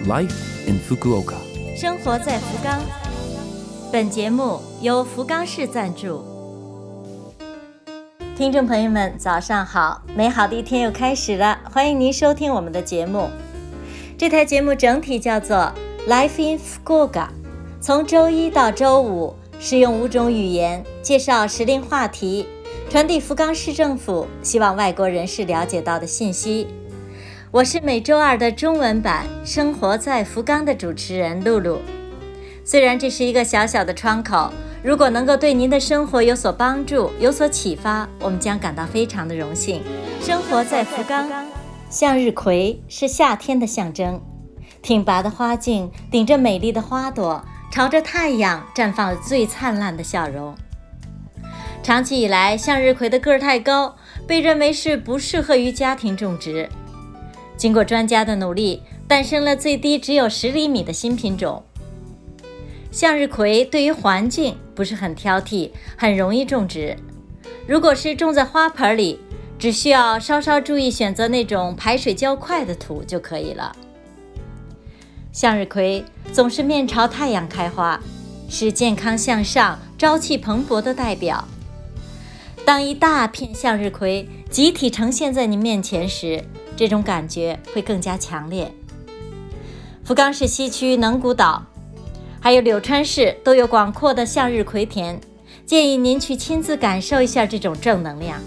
Life in Fukuoka， 生活在福冈。本节目由福冈市赞助。听众朋友们，早上好！美好的一天又开始了，欢迎您收听我们的节目。这台节目整体叫做 Life in Fukuoka， 从周一到周五，使用5种语言介绍时令话题，传递福冈市政府希望外国人士了解到的信息。我是每周二的中文版生活在福冈的主持人露露。虽然这是一个小小的窗口，如果能够对您的生活有所帮助，有所启发，我们将感到非常的荣幸。生活在福冈，向日葵是夏天的象征，挺拔的花茎顶着美丽的花朵，朝着太阳绽放了最灿烂的笑容。长期以来，向日葵的个儿太高，被认为是不适合于家庭种植。经过专家的努力，诞生了最低只有10厘米的新品种。向日葵对于环境不是很挑剔，很容易种植。如果是种在花盆里，只需要稍稍注意选择那种排水较快的土就可以了。向日葵总是面朝太阳开花，是健康向上、朝气蓬勃的代表。当一大片向日葵集体呈现在你面前时，这种感觉会更加强烈。福冈市西区能古岛还有柳川市都有广阔的向日葵田，建议您去亲自感受一下这种正能量。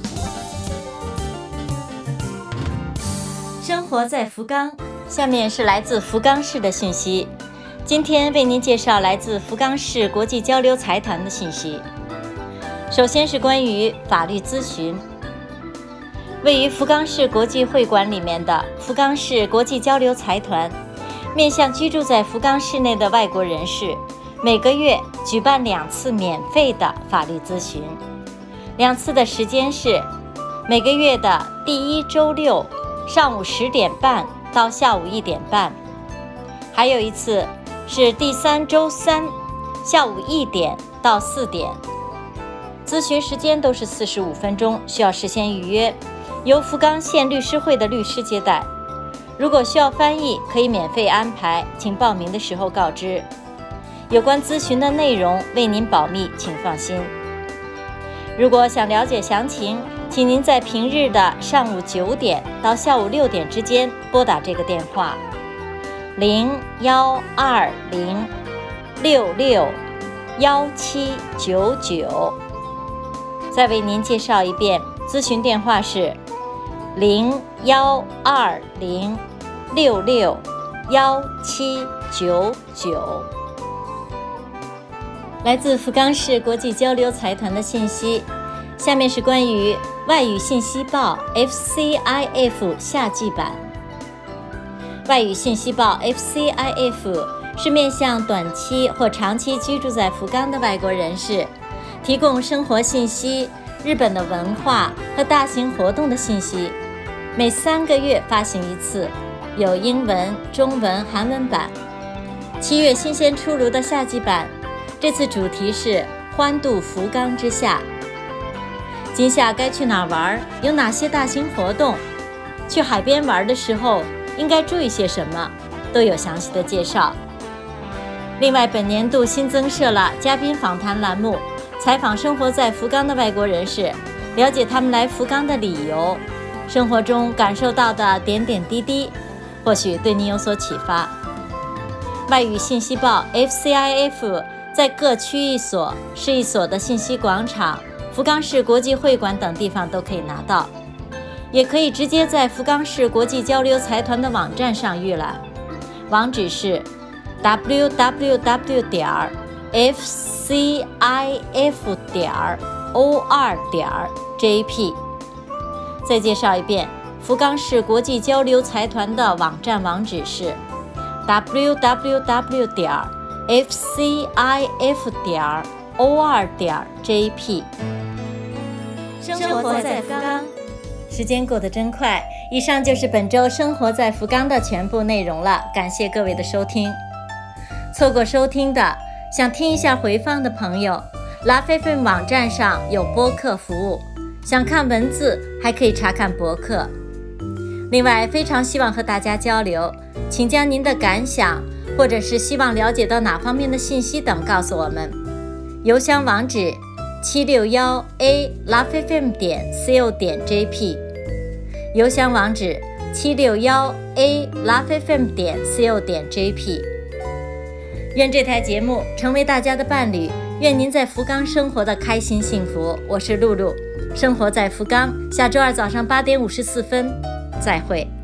生活在福冈，下面是来自福冈市的信息。今天为您介绍来自福冈市国际交流财团的信息。首先是关于法律咨询。位于福冈市国际会馆里面的福冈市国际交流财团，面向居住在福冈市内的外国人士，每个月举办2次免费的法律咨询。2次的时间是每个月的第1周六上午10点半到下午1点半，还有一次是第3周3下午1点到4点。咨询时间都是45分钟，需要事先预约，由福冈县律师会的律师接待。如果需要翻译，可以免费安排，请报名的时候告知。有关咨询的内容为您保密，请放心。如果想了解详情，请您在平日的上午9点到下午6点之间拨打这个电话0120661799。再为您介绍一遍，咨询电话是0120661799。来自福冈市国际交流财团的信息，下面是关于外语信息报 FCIF 夏季版。外语信息报 FCIF 是面向短期或长期居住在福冈的外国人士，提供生活信息、日本的文化和大型活动的信息，每3个月发行一次，有英文、中文、韩文版。7月新鲜出炉的夏季版，这次主题是欢度福冈之夏。今夏该去哪儿玩？有哪些大型活动？去海边玩的时候应该注意些什么？都有详细的介绍。另外，本年度新增设了嘉宾访谈栏目，采访生活在福冈的外国人士，了解他们来福冈的理由，生活中感受到的点点滴滴，或许对您有所启发。外语信息报 FCIF 在各区域所、市役所的信息广场、福冈市国际会馆等地方都可以拿到，也可以直接在福冈市国际交流财团的网站上预览，网址是 www.fcif.or.jp。 再介绍一遍，福冈市国际交流财团的网站网址是 www.fcif.or.jp。 生活在福冈，时间过得真快。以上就是本周生活在福冈的全部内容了，感谢各位的收听。错过收听的，想听一下回放的朋友， LoveFM 网站上有播客服务，想看文字还可以查看博客。 另外，非常希望和大家交流，请将您的感想或者是希望了解到哪方面的信息等告诉我们。邮箱网址761a.lovefm.co.jp， 邮箱网址761a.lovefm.co.jp。 愿这台节目成为大家的伴侣，愿您在福冈生活的开心幸福。我是露露，生活在福冈，下周二早上8点54分，再会。